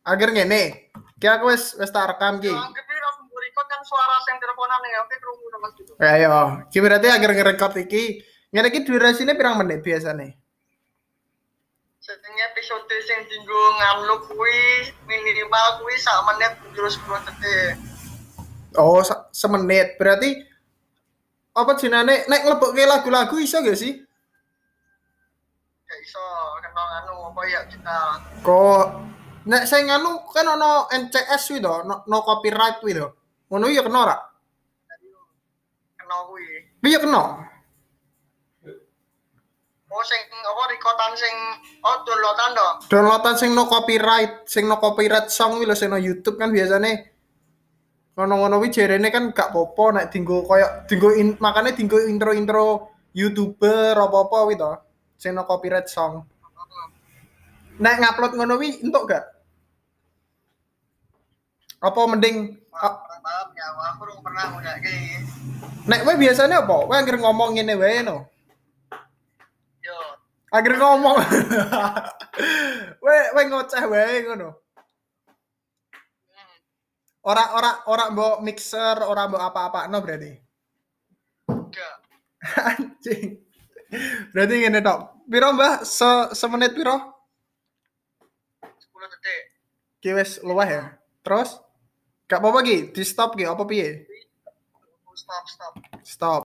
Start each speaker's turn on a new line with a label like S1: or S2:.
S1: Akhir ngene. Ki aku wis tak rekam ki.
S2: Yo anggap ini langsung record kan suara sing teleponan ya, oke krungu to Mas gitu.
S1: Ayo, ki berarti akhir ngerekord iki. Ngene iki durasine pirang menit biasane?
S2: Setengah episode sing dinggo ngamluk kuwi minimal kuwi sak menit terus 10 detik.
S1: Oh, semenit. Berarti apa jenenge nek nglebokke lagu-lagu iso gak sih?
S2: Gak iso kena anu apa ya kita.
S1: Kok nek sing anu kan ono NCS kuwi to, no copyright kuwi to. Ngono ya kena ora?
S2: Kena kuwi.
S1: Piye kena?
S2: Oh sing apa rekodan sing downloadan to.
S1: Downloadan sing no copyright song kuwi lho sing no YouTube kan biasane ngono-ngono kuwi jarene kan gak popo nek dinggo koyo makane dinggo intro-intro YouTuber apa-apa kuwi to. Sing no copyright song. Nek ngupload ngono kuwi entuk gak? Apa mending
S2: Kurang paham ya, aku belum pernah udah kayak
S1: nek kowe biasane apa? Kowe anggere ngomong ngene wae no.
S2: yo.
S1: Anggere ngomong. Kowe ngoceh wae ngono. Ora mbok mixer, ora mbok apa-apa no berarti.
S2: Enggak.
S1: Anjing. Berarti ngene tok. Piro Mbah? Semenit piro?
S2: 10 detik.
S1: Ki wis luwih ya. Terus gak apa-apa ki, di stop ki apa piye?
S2: Stop.
S1: Stop.